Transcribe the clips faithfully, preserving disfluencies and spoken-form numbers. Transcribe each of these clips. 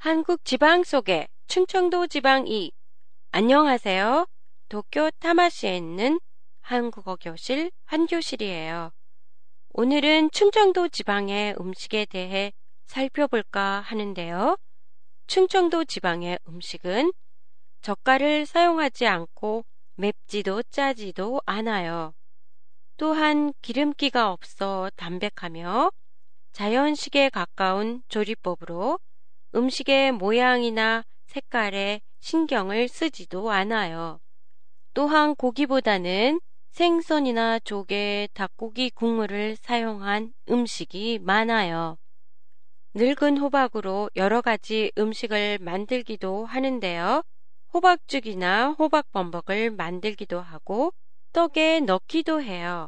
한국 지방 속의 충청도 지방이. 안녕하세요. 도쿄 타마시에 있는 한국어 교실 한교실이에요. 오늘은 충청도 지방의 음식에 대해 살펴볼까 하는데요. 충청도 지방의 음식은 젓갈을 사용하지 않고 맵지도 짜지도 않아요. 또한 기름기가 없어 담백하며 자연식에 가까운 조리법으로 음식의 모양이나 색깔에 신경을 쓰지도 않아요. 또한 고기보다는 생선이나 조개, 닭고기 국물을 사용한 음식이 많아요. 늙은 호박으로 여러 가지 음식을 만들기도 하는데요. 호박죽이나 호박범벅을 만들기도 하고 떡에 넣기도 해요.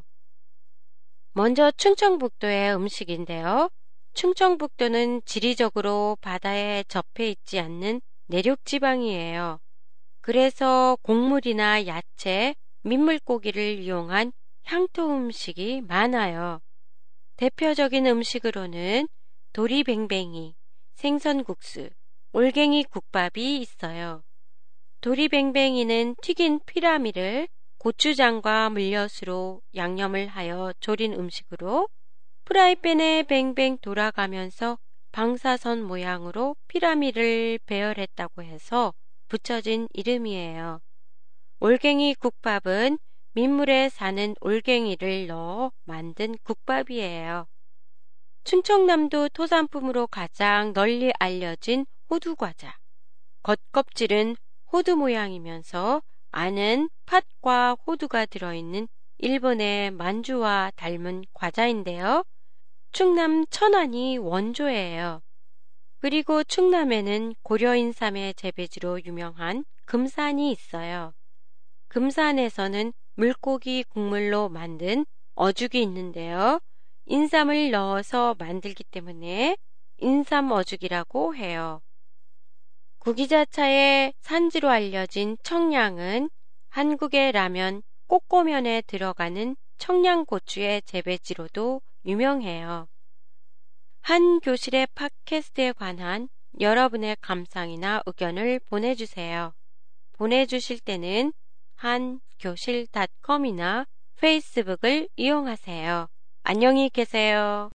먼저 충청북도의 음식인데요. 충청북도는 지리적으로 바다에 접해 있지 않는 내륙지방이에요. 그래서 곡물이나 야채, 민물고기를 이용한 향토 음식이 많아요. 대표적인 음식으로는 도리뱅뱅이, 생선국수, 올갱이 국밥이 있어요. 도리뱅뱅이는 튀긴 피라미를 고추장과 물엿으로 양념을 하여 조린 음식으로 프라이팬에 뱅뱅 돌아가면서 방사선 모양으로 피라미를 배열했다고 해서 붙여진 이름이에요. 올갱이 국밥은 민물에 사는 올갱이를 넣어 만든 국밥이에요. 충청남도 토산품으로 가장 널리 알려진 호두과자. 겉껍질은 호두 모양이면서 안은 팥과 호두가 들어있는 일본의 만주와 닮은 과자인데요. 충남 천안이 원조예요. 그리고 충남에는 고려인삼의 재배지로 유명한 금산이 있어요. 금산에서는 물고기 국물로 만든 어죽이 있는데요. 인삼을 넣어서 만들기 때문에 인삼어죽이라고 해요. 구기자차의 산지로 알려진 청량은 한국의 라면 꼬꼬면에 들어가는 청양고추의 재배지로도 유명해요. 한 교실의 팟캐스트에 관한 여러분의 감상이나 의견을 보내주세요. 보내주실 때는 한교실 닷컴이나 페이스북을 이용하세요. 안녕히 계세요.